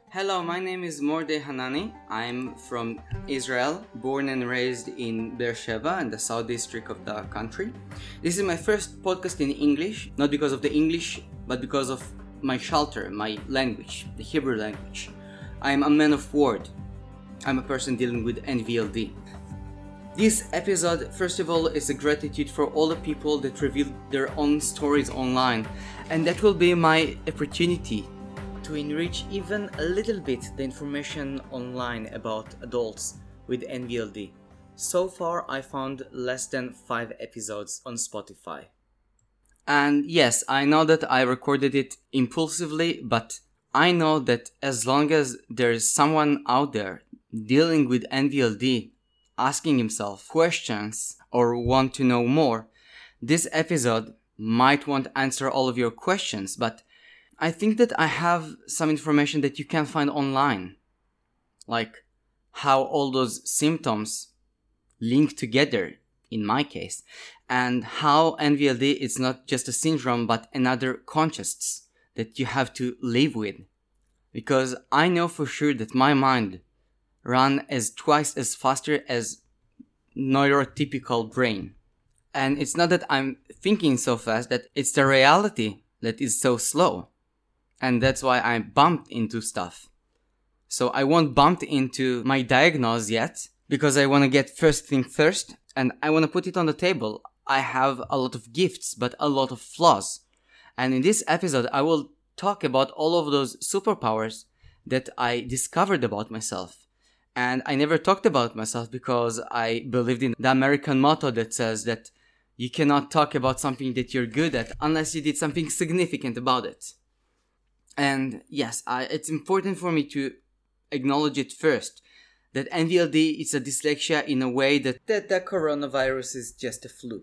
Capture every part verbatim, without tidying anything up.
Hello, my name is Mordeh Hanani. I'm from Israel, born and raised in Beersheba in the south district of the country. This is my first podcast in English, not because of the English, but because of my shelter, my language, the Hebrew language. I'm a man of word. I'm a person dealing with N V L D. This episode, first of all, is a gratitude for all the people that reveal their own stories online, and that will be my opportunity to enrich even a little bit the information online about adults with N V L D. So far, I found less than five episodes on Spotify. And yes, I know that I recorded it impulsively, but I know that as long as there is someone out there dealing with N V L D, asking himself questions or want to know more, this episode might won't answer all of your questions, but I think that I have some information that you can find online, like how all those symptoms link together in my case, and how N V L D is not just a syndrome but another conscience that you have to live with. Because I know for sure that my mind runs as twice as faster as neurotypical brain. And it's not that I'm thinking so fast, that it's the reality that is so slow. And that's why I bumped into stuff. So I won't bump into my diagnosis yet, because I want to get first thing first, and I want to put it on the table. I have a lot of gifts, but a lot of flaws. And in this episode, I will talk about all of those superpowers that I discovered about myself. And I never talked about myself because I believed in the American motto that says that you cannot talk about something that you're good at unless you did something significant about it. And yes, I, it's important for me to acknowledge it first, that N V L D is a dyslexia in a way that, that the coronavirus is just a flu.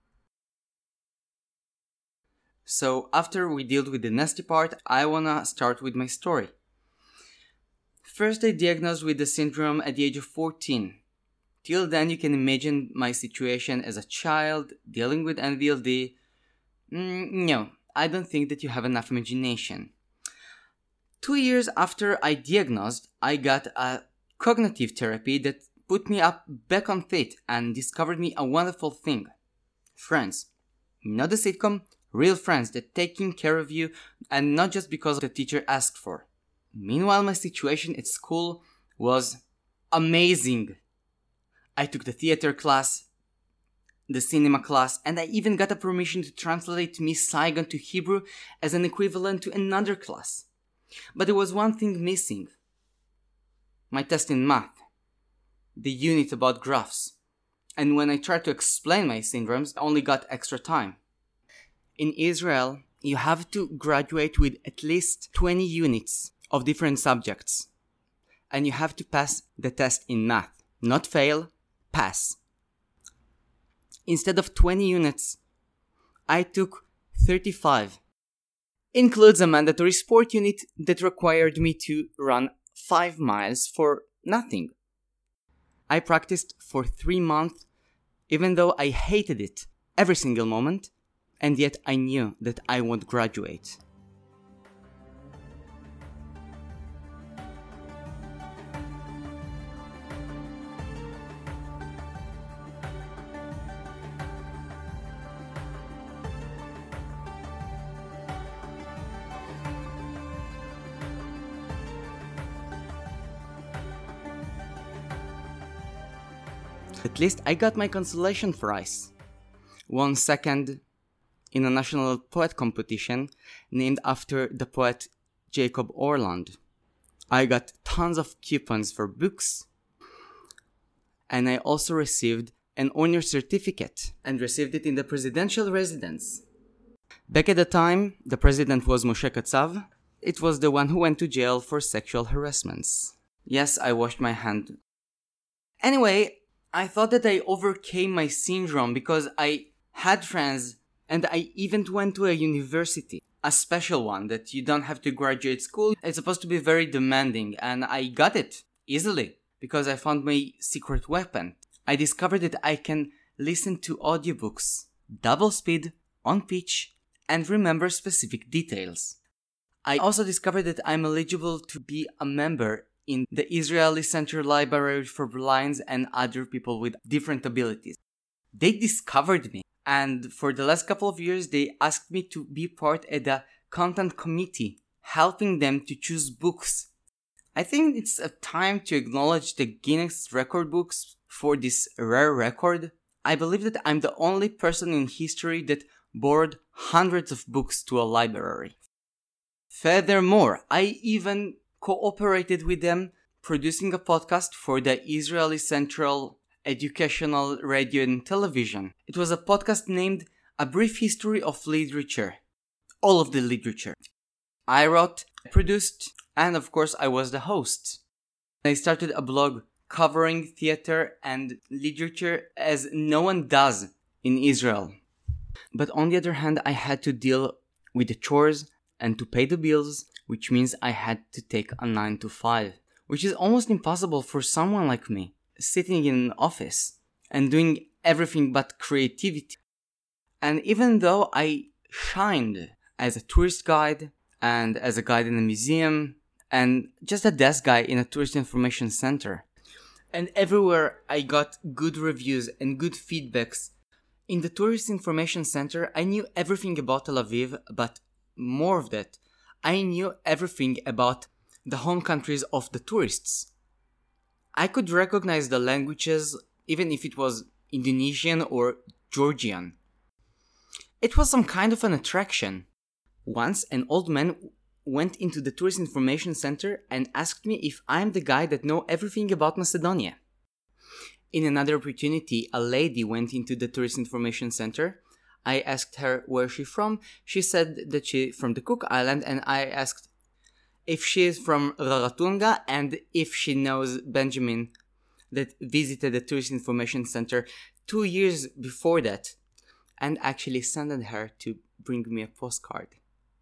So after we dealt with the nasty part, I wanna start with my story. First, I diagnosed with the syndrome at the age of fourteen. Till then, you can imagine my situation as a child dealing with N V L D. Mm, no, I don't think that you have enough imagination. Two years after I diagnosed, I got a cognitive therapy that put me up back on feet and discovered me a wonderful thing. Friends. Not a sitcom, real friends that taking care of you, and not just because the teacher asked for. Meanwhile, my situation at school was amazing. I took the theater class, the cinema class, and I even got a permission to translate Miss Saigon to Hebrew as an equivalent to another class. But there was one thing missing. My test in math. The unit about graphs. And when I tried to explain my syndromes, I only got extra time. In Israel, you have to graduate with at least twenty units of different subjects. And you have to pass the test in math. Not fail, pass. Instead of twenty units, I took thirty-five. Includes a mandatory sport unit that required me to run five miles for nothing. I practiced for three months, even though I hated it every single moment, and yet I knew that I won't graduate. At least I got my consolation prize. Won second in a national poet competition named after the poet Jacob Orland. I got tons of coupons for books. And I also received an honor certificate and received it in the presidential residence. Back at the time, the president was Moshe Katsav. It was the one who went to jail for sexual harassments. Yes, I washed my hand. Anyway, I thought that I overcame my syndrome because I had friends and I even went to a university, a special one that you don't have to graduate school. It's supposed to be very demanding, and I got it easily because I found my secret weapon. I discovered that I can listen to audiobooks, double speed, on pitch, and remember specific details. I also discovered that I'm eligible to be a member in the Israeli Center Library for Blinds and other people with different abilities. They discovered me, and for the last couple of years, they asked me to be part of the content committee, helping them to choose books. I think it's a time to acknowledge the Guinness record books for this rare record. I believe that I'm the only person in history that borrowed hundreds of books to a library. Furthermore, I even cooperated with them producing a podcast for the Israeli Central Educational Radio and Television. It was a podcast named A Brief History of Literature. All of the literature. I wrote, produced, and of course I was the host. I started a blog covering theater and literature as no one does in Israel. But on the other hand, I had to deal with the chores and to pay the bills, which means I had to take a nine to five, which is almost impossible for someone like me, sitting in an office and doing everything but creativity. And even though I shined as a tourist guide and as a guide in a museum and just a desk guy in a tourist information center, and everywhere I got good reviews and good feedbacks, in the tourist information center I knew everything about Tel Aviv, but more of that, I knew everything about the home countries of the tourists. I could recognize the languages even if it was Indonesian or Georgian. It was some kind of an attraction. Once an old man went into the tourist information center and asked me if I'm the guy that know everything about Macedonia. In another opportunity, a lady went into the tourist information center. I asked her where she's from. She said that she's from the Cook Island, and I asked if she is from Raratunga and if she knows Benjamin that visited the tourist information center two years before that, and actually sent her to bring me a postcard.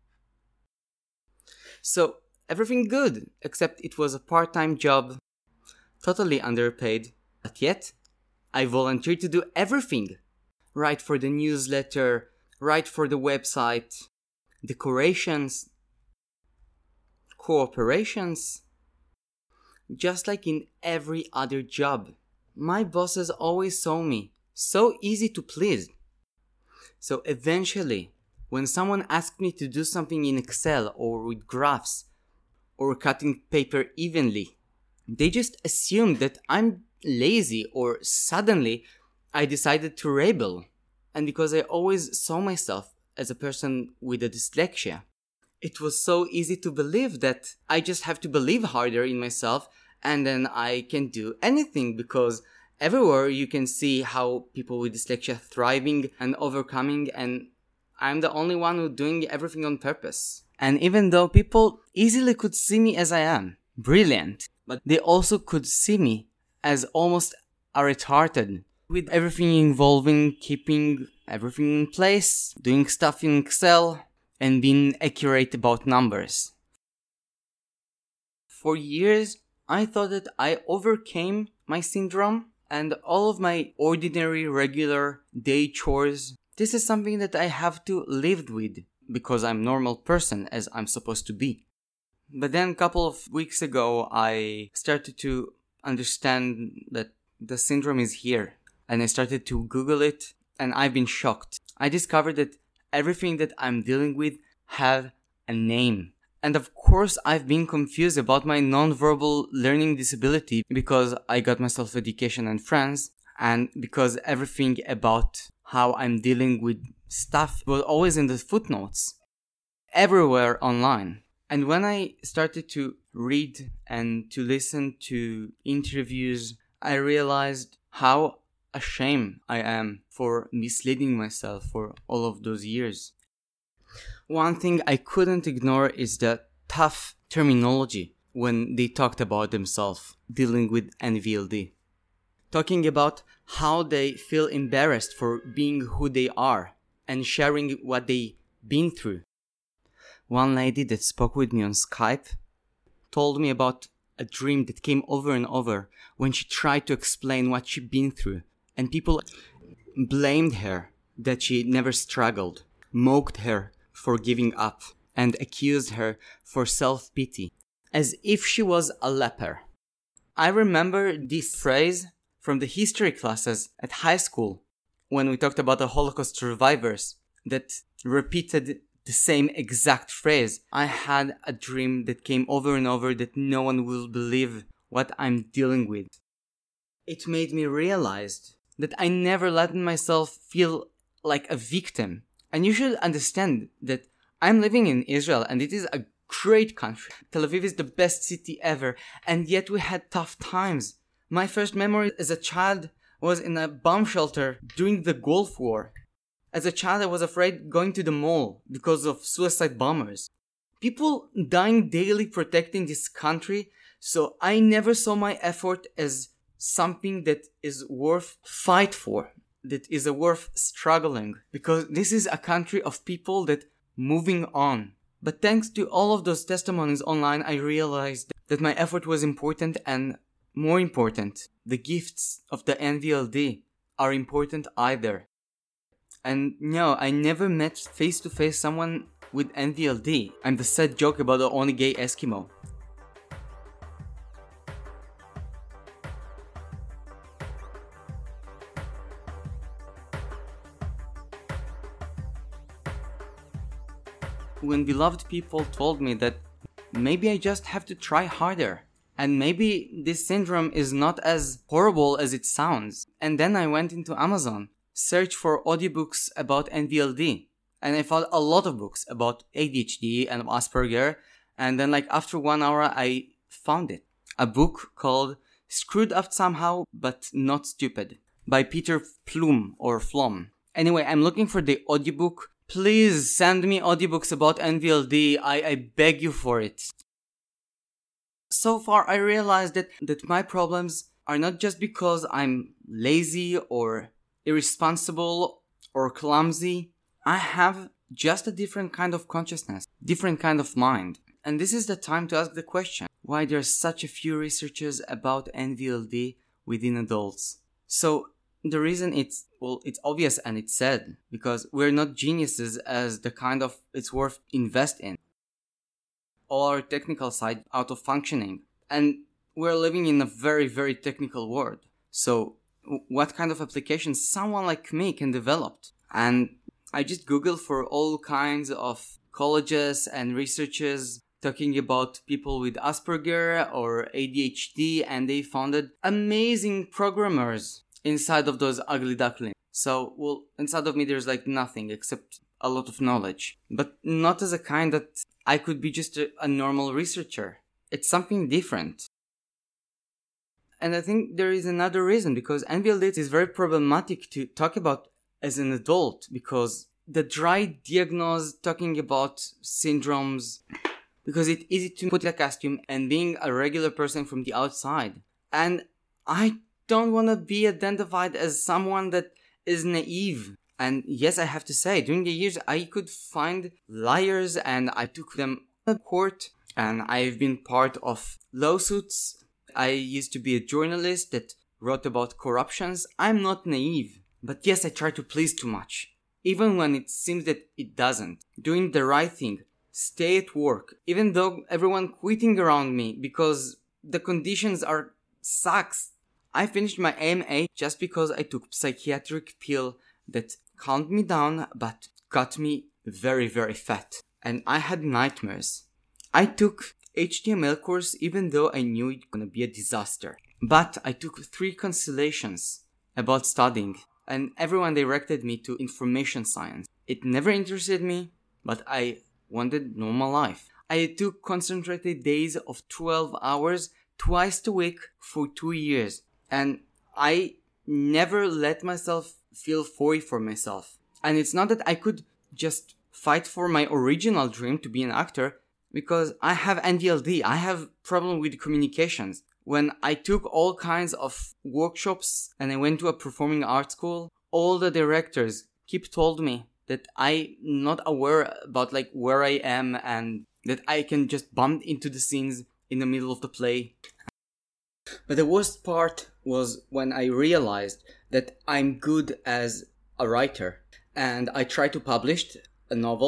So everything good, except it was a part-time job, totally underpaid, but yet I volunteered to do everything. Write for the newsletter, write for the website, decorations, cooperations. Just like in every other job, my bosses always saw me so easy to please. So eventually, when someone asked me to do something in Excel or with graphs or cutting paper evenly, they just assumed that I'm lazy, or suddenly I decided to rebel. And because I always saw myself as a person with a dyslexia, it was so easy to believe that I just have to believe harder in myself and then I can do anything, because everywhere you can see how people with dyslexia thriving and overcoming, and I'm the only one who's doing everything on purpose. And even though people easily could see me as I am, brilliant, but they also could see me as almost a retarded, with everything involving keeping everything in place, doing stuff in Excel, and being accurate about numbers. For years, I thought that I overcame my syndrome and all of my ordinary, regular day chores. This is something that I have to live with because I'm a normal person, as I'm supposed to be. But then a couple of weeks ago, I started to understand that the syndrome is here. And I started to Google it, and I've been shocked. I discovered that everything that I'm dealing with have a name. And of course, I've been confused about my non-verbal learning disability because I got myself education and friends, and because everything about how I'm dealing with stuff was always in the footnotes, everywhere online. And when I started to read and to listen to interviews, I realized how ashamed I am for misleading myself for all of those years. One thing I couldn't ignore is the tough terminology when they talked about themselves dealing with N V L D. Talking about how they feel embarrassed for being who they are and sharing what they've been through. One lady that spoke with me on Skype told me about a dream that came over and over when she tried to explain what she'd been through, and people blamed her that she never struggled, mocked her for giving up, and accused her for self-pity, as if she was a leper. I remember this phrase from the history classes at high school, when we talked about the Holocaust survivors that repeated the same exact phrase. I had a dream that came over and over that no one will believe what I'm dealing with. It made me realize that I never let myself feel like a victim. And you should understand that I'm living in Israel and it is a great country. Tel Aviv is the best city ever, and yet we had tough times. My first memory as a child was in a bomb shelter during the Gulf War. As a child, I was afraid going to the mall because of suicide bombers. People dying daily protecting this country, so I never saw my effort as something that is worth fight for, that is worth struggling, because this is a country of people that moving on. But thanks to all of those testimonies online, I realized that my effort was important, and more important, the gifts of the N V L D are important either. And no, I never met face to face someone with N V L D. I'm the sad joke about the only gay Eskimo. When beloved people told me that maybe I just have to try harder, and maybe this syndrome is not as horrible as it sounds. And then I went into Amazon, searched for audiobooks about N V L D, and I found a lot of books about A D H D and Asperger, and then like after one hour I found it. A book called Screwed Up Somehow But Not Stupid by Peter Plum or Flom. Anyway, I'm looking for the audiobook. Please send me audiobooks about N V L D, I, I beg you for it. So far I realized that, that my problems are not just because I'm lazy or irresponsible or clumsy. I have just a different kind of consciousness, different kind of mind. And this is the time to ask the question, why there are such a few researchers about N V L D within adults? So the reason it's, well, it's obvious and it's sad, because we're not geniuses as the kind of it's worth invest in. All our technical side out of functioning. And we're living in a very, very technical world. So what kind of applications someone like me can develop? And I just Googled for all kinds of colleges and researchers talking about people with Asperger or A D H D, and they founded amazing programmers inside of those ugly ducklings. So, well, inside of me there's like nothing except a lot of knowledge. But not as a kind that I could be just a, a normal researcher. It's something different. And I think there is another reason, because N V L D is very problematic to talk about as an adult, because the dry diagnose talking about syndromes, because it's easy to put a costume and being a regular person from the outside. And I don't want to be identified as someone that is naive. And yes, I have to say, during the years I could find liars and I took them to court, and I've been part of lawsuits. I used to be a journalist that wrote about corruptions. I'm not naive, but yes, I try to please too much, even when it seems that it doesn't. Doing the right thing, stay at work, even though everyone quitting around me because the conditions are sucks. I finished my A M A just because I took psychiatric pill that calmed me down but got me very, very fat. And I had nightmares. I took H T M L course even though I knew it was gonna be a disaster. But I took three constellations about studying, and everyone directed me to information science. It never interested me, but I wanted normal life. I took concentrated days of twelve hours twice a week for two years. And I never let myself feel sorry for myself. And it's not that I could just fight for my original dream to be an actor, because I have N V L D. I have problem with communications. When I took all kinds of workshops and I went to a performing arts school, all the directors keep told me that I'm not aware about like where I am and that I can just bump into the scenes in the middle of the play. But the worst part was when I realized that I'm good as a writer, and I tried to publish a novel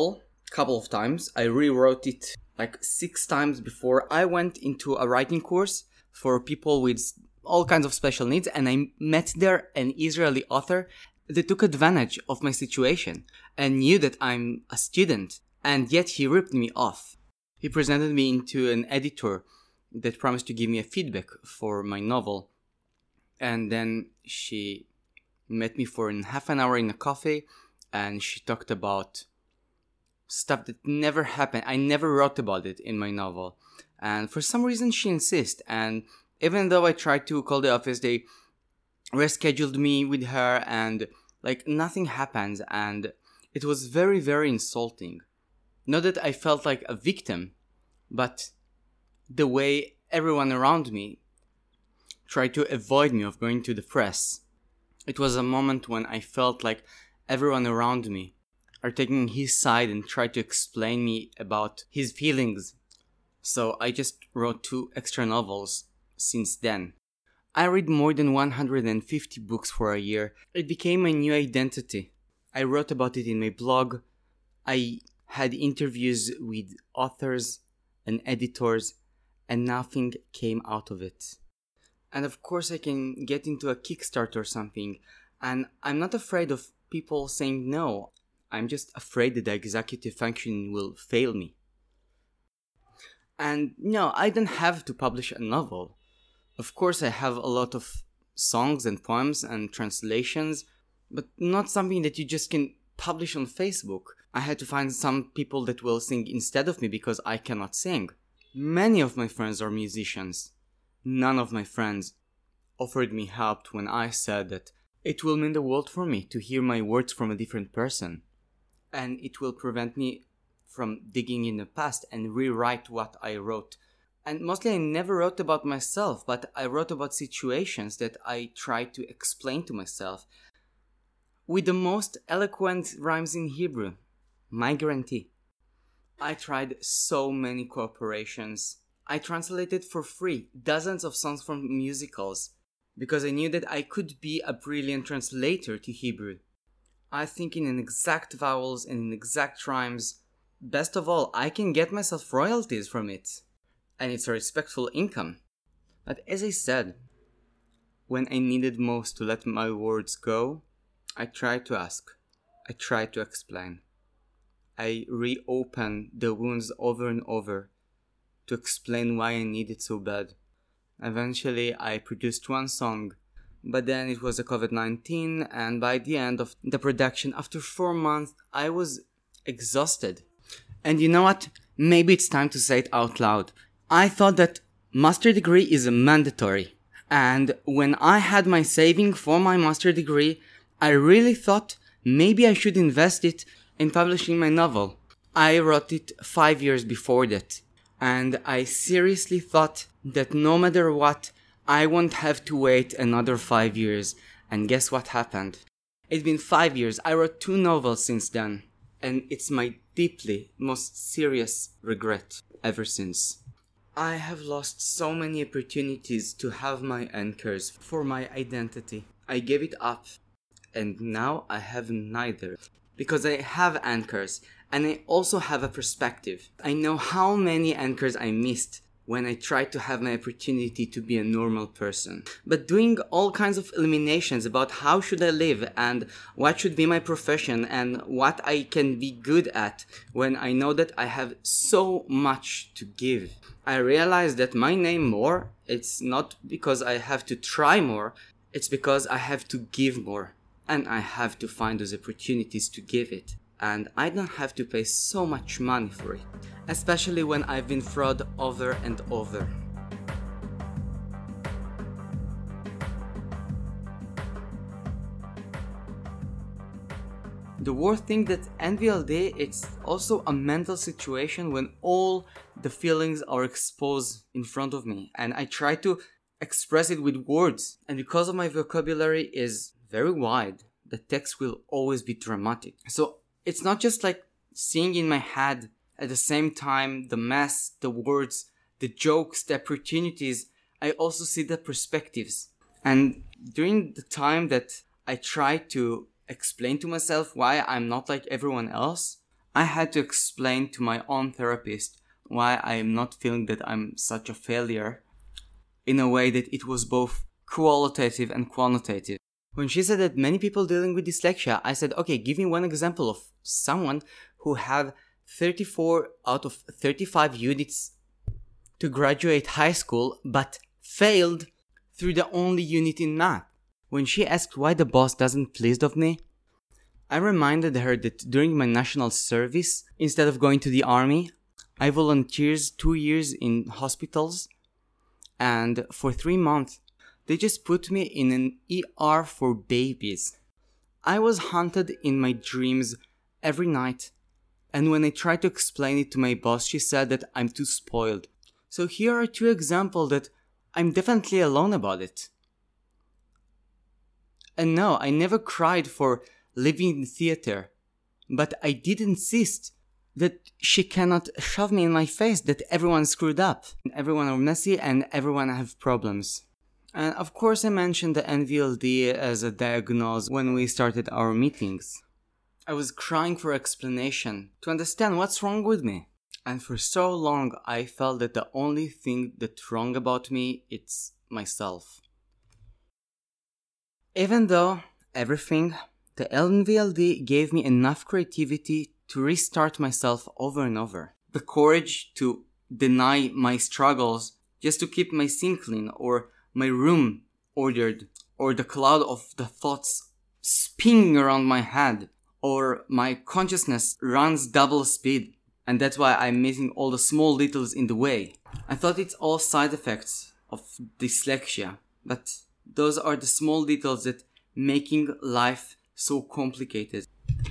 couple of times. I rewrote it like six times before I went into a writing course for people with all kinds of special needs, and I met there an Israeli author that took advantage of my situation and knew that I'm a student, and yet he ripped me off. He presented me into an editor that promised to give me a feedback for my novel, and then she met me for an half an hour in a cafe, and she talked about stuff that never happened. I never wrote about it in my novel, and for some reason she insists. And even though I tried to call the office, they rescheduled me with her, and like nothing happened, and it was very, very insulting. Not that I felt like a victim, but the way everyone around me tried to avoid me of going to the press. It was a moment when I felt like everyone around me are taking his side and try to explain me about his feelings. So I just wrote two extra novels since then. I read more than one hundred fifty books for a year. It became my new identity. I wrote about it in my blog. I had interviews with authors and editors, and nothing came out of it. And of course I can get into a Kickstarter or something, and I'm not afraid of people saying no. I'm just afraid that the executive function will fail me. And no, I don't have to publish a novel. Of course I have a lot of songs and poems and translations, but not something that you just can publish on Facebook. I had to find some people that will sing instead of me because I cannot sing. Many of my friends are musicians. None of my friends offered me help when I said that it will mean the world for me to hear my words from a different person. And it will prevent me from digging in the past and rewrite what I wrote. And mostly I never wrote about myself, but I wrote about situations that I tried to explain to myself with the most eloquent rhymes in Hebrew. My guarantee. I tried so many cooperations. I translated for free dozens of songs from musicals because I knew that I could be a brilliant translator to Hebrew. I think in exact vowels and in exact rhymes. Best of all, I can get myself royalties from it. And it's a respectful income. But as I said, when I needed most to let my words go, I tried to ask. I tried to explain. I reopened the wounds over and over to explain why I needed so bad. Eventually, I produced one song, but then it was a covid nineteen, and by the end of the production, after four months, I was exhausted. And you know what? Maybe it's time to say it out loud. I thought that master degree is mandatory. And when I had my saving for my master degree, I really thought maybe I should invest it in publishing my novel. I wrote it five years before that. And I seriously thought that no matter what, I won't have to wait another five years. And guess what happened? It's been five years. I wrote two novels since then. And it's my deeply, most serious regret ever since. I have lost so many opportunities to have my anchors for my identity. I gave it up. And now I have neither. Because I have anchors. And I also have a perspective. I know how many anchors I missed when I tried to have my opportunity to be a normal person. But doing all kinds of eliminations about how should I live and what should be my profession and what I can be good at when I know that I have so much to give. I realized that my name more, it's not because I have to try more, it's because I have to give more. And I have to find those opportunities to give it. And I don't have to pay so much money for it, especially when I've been fraud over and over. The worst thing that N V L D, it's also a mental situation when all the feelings are exposed in front of me and I try to express it with words, and because of my vocabulary is very wide, the text will always be dramatic. So it's not just like seeing in my head at the same time the mess, the words, the jokes, the opportunities. I also see the perspectives. And during the time that I try to explain to myself why I'm not like everyone else, I had to explain to my own therapist why I am not feeling that I'm such a failure in a way that it was both qualitative and quantitative. When she said that many people dealing with dyslexia, I said, okay, give me one example of someone who had thirty-four out of thirty-five units to graduate high school but failed through the only unit in math. When she asked why the boss doesn't pleased of me, I reminded her that during my national service, instead of going to the army, I volunteered two years in hospitals, and for three months, they just put me in an E R for babies. I was haunted in my dreams every night, and when I tried to explain it to my boss, she said that I'm too spoiled. So here are two examples that I'm definitely alone about it. And no, I never cried for living in theater, but I did insist that she cannot shove me in my face that everyone screwed up, everyone are messy, and everyone have problems. And of course I mentioned the N V L D as a diagnosis when we started our meetings. I was crying for explanation to understand what's wrong with me. And for so long I felt that the only thing that's wrong about me is myself. Even though everything, the N V L D gave me enough creativity to restart myself over and over. The courage to deny my struggles just to keep my sink clean, or my room ordered, or the cloud of the thoughts spinning around my head, or my consciousness runs double speed, and that's why I'm missing all the small details in the way. I thought it's all side effects of dyslexia, but those are the small details that making life so complicated.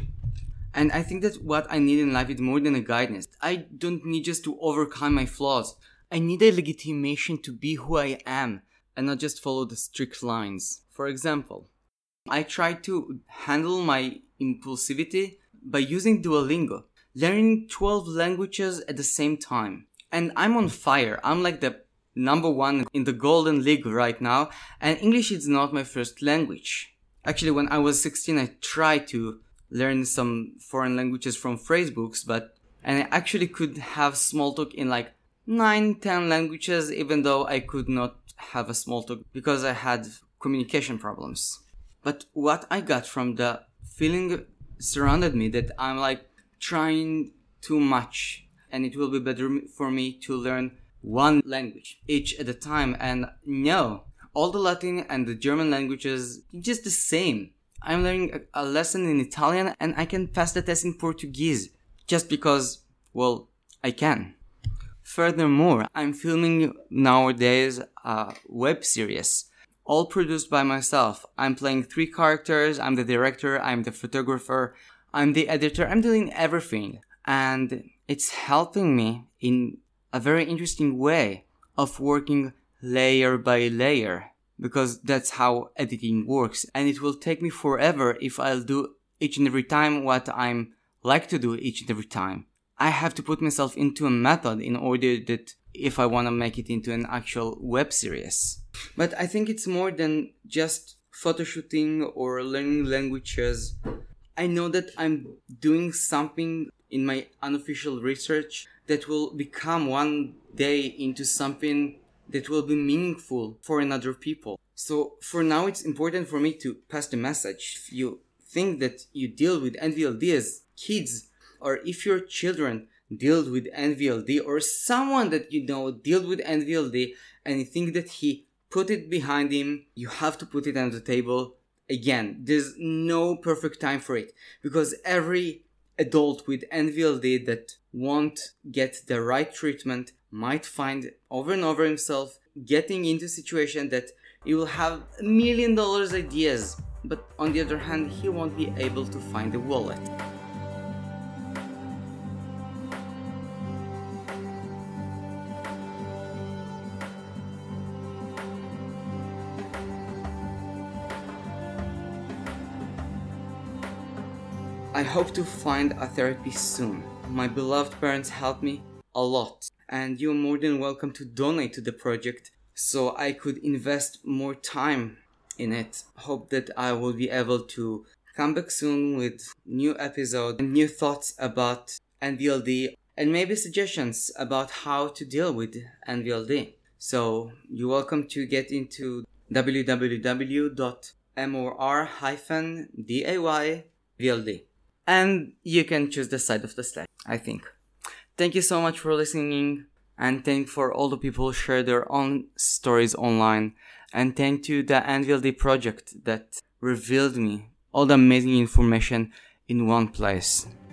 And I think that what I need in life is more than a guidance. I don't need just to overcome my flaws. I need a legitimation to be who I am and not just follow the strict lines. For example, I try to handle my impulsivity by using Duolingo, learning twelve languages at the same time. And I'm on fire. I'm like the number one in the Golden League right now, and English is not my first language. Actually, when I was sixteen, I tried to learn some foreign languages from phrasebooks, but and I actually could have small talk in like nine, ten languages, even though I could not have a small talk because I had communication problems. But what I got from the feeling surrounded me that I'm like trying too much, and it will be better for me to learn one language each at a time. And no, all the Latin and the German languages just the same. I'm learning a, a lesson in Italian and I can pass the test in Portuguese just because, well, I can. Furthermore, I'm filming nowadays a web series, all produced by myself. I'm playing three characters, I'm the director, I'm the photographer, I'm the editor, I'm doing everything. And it's helping me in a very interesting way of working layer by layer, because that's how editing works. And it will take me forever if I'll do each and every time what I'm like to do each and every time. I have to put myself into a method in order that if I want to make it into an actual web series. But I think it's more than just photo shooting or learning languages. I know that I'm doing something in my unofficial research that will become one day into something that will be meaningful for another people. So for now, it's important for me to pass the message. If you think that you deal with N V L D as kids, or if your children deal with N V L D, or someone that you know dealt with N V L D and you think that he put it behind him, you have to put it on the table. Again, there's no perfect time for it, because every adult with N V L D that won't get the right treatment might find over and over himself getting into a situation that he will have a million dollars ideas, but on the other hand, he won't be able to find a wallet. I hope to find a therapist soon. My beloved parents helped me a lot, and you're more than welcome to donate to the project so I could invest more time in it. Hope that I will be able to come back soon with new episode and new thoughts about N V L D and maybe suggestions about how to deal with N V L D. So you're welcome to get into w w w dot mor day V L D. And you can choose the side of the Slack, I think. Thank you so much for listening, and thank for all the people who share their own stories online, and thank to the N V L D project that revealed me all the amazing information in one place.